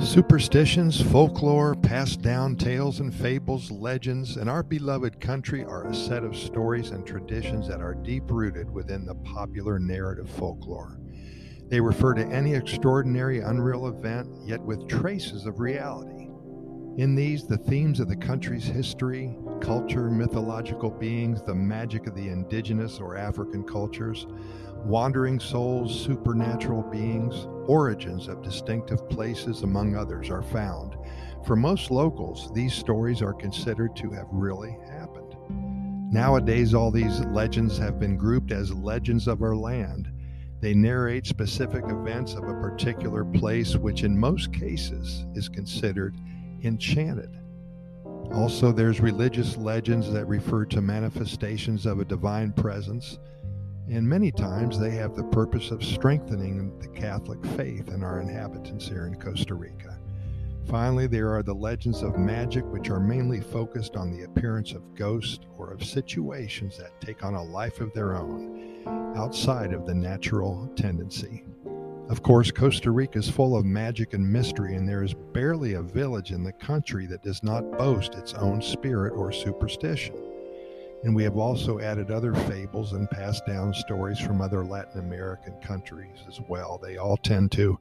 Superstitions, folklore, passed down tales and fables, legends, and our beloved country are a set of stories and traditions that are deep-rooted within the popular narrative folklore. They refer to any extraordinary, unreal event, yet with traces of reality. In these, the themes of the country's history, culture, mythological beings, the magic of the indigenous or African cultures, wandering souls, supernatural beings, origins of distinctive places, among others, are found. For most locals, these stories are considered to have really happened. Nowadays, all these legends have been grouped as legends of our land. They narrate specific events of a particular place, which in most cases is considered enchanted. Also, there's religious legends that refer to manifestations of a divine presence, and many times they have the purpose of strengthening the Catholic faith in our inhabitants here in Costa Rica. Finally, there are the legends of magic, which are mainly focused on the appearance of ghosts or of situations that take on a life of their own, outside of the natural tendency. Of course, Costa Rica is full of magic and mystery, and there is barely a village in the country that does not boast its own spirit or superstition. And we have also added other fables and passed down stories from other Latin American countries as well. They all tend to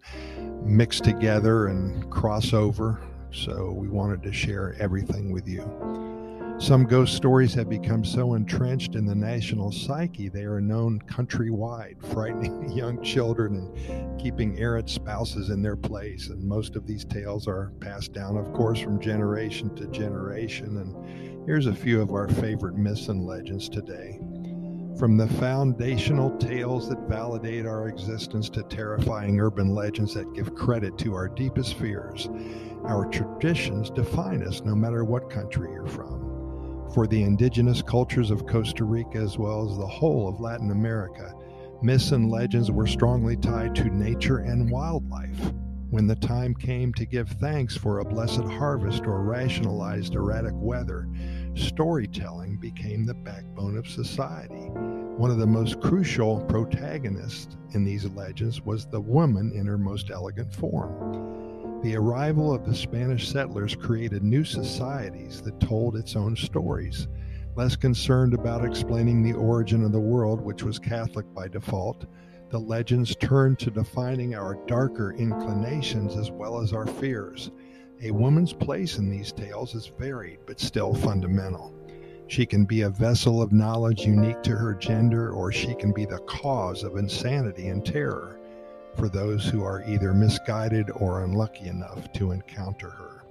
mix together and cross over, so we wanted to share everything with you. Some ghost stories have become so entrenched in the national psyche they are known countrywide, frightening young children and keeping errant spouses in their place. And most of these tales are passed down, of course, from generation to generation. And here's a few of our favorite myths and legends today. From the foundational tales that validate our existence to terrifying urban legends that give credit to our deepest fears, our traditions define us no matter what country you're from. For the indigenous cultures of Costa Rica, as well as the whole of Latin America, myths and legends were strongly tied to nature and wildlife. When the time came to give thanks for a blessed harvest or rationalized erratic weather, storytelling became the backbone of society. One of the most crucial protagonists in these legends was the woman in her most elegant form. The arrival of the Spanish settlers created new societies that told its own stories. Less concerned about explaining the origin of the world, which was Catholic by default, the legends turned to defining our darker inclinations as well as our fears. A woman's place in these tales is varied but still fundamental. She can be a vessel of knowledge unique to her gender, or she can be the cause of insanity and terror for those who are either misguided or unlucky enough to encounter her.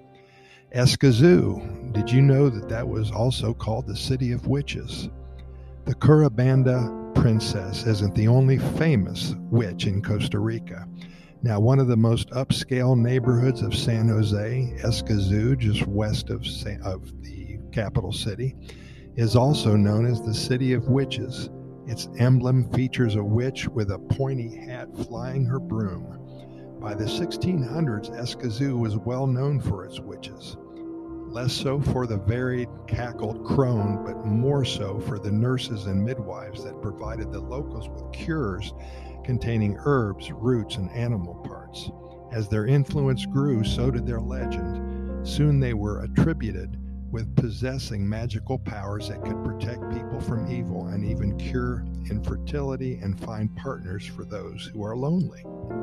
Escazú, did you know that was also called the City of Witches? The Curabanda princess isn't the only famous witch in Costa Rica. Now, one of the most upscale neighborhoods of San Jose, Escazú, just west of the capital city, is also known as the City of Witches. Its emblem features a witch with a pointy hat flying her broom. By the 1600s, Escazú was well known for its witches. Less so for the varied cackled crone, but more so for the nurses and midwives that provided the locals with cures containing herbs, roots, and animal parts. As their influence grew, so did their legend. Soon they were attributed with possessing magical powers that could protect people from evil and even cure infertility and find partners for those who are lonely.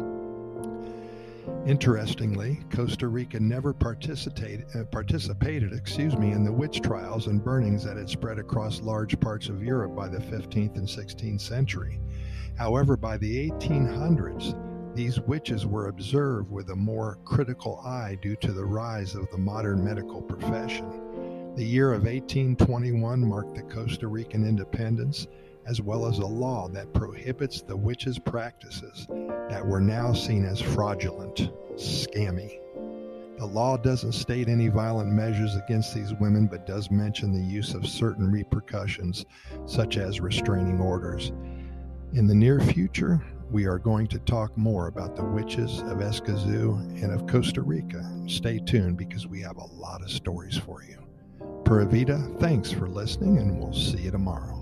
Interestingly, Costa Rica never participated in the witch trials and burnings that had spread across large parts of Europe by the 15th and 16th century. However, by the 1800s, these witches were observed with a more critical eye due to the rise of the modern medical profession. The year of 1821 marked the Costa Rican independence, as well as a law that prohibits the witches' practices that were now seen as fraudulent, scammy. The law doesn't state any violent measures against these women, but does mention the use of certain repercussions, such as restraining orders. In the near future, we are going to talk more about the witches of Escazú and of Costa Rica. Stay tuned because we have a lot of stories for you. Pura Vida, thanks for listening, and we'll see you tomorrow.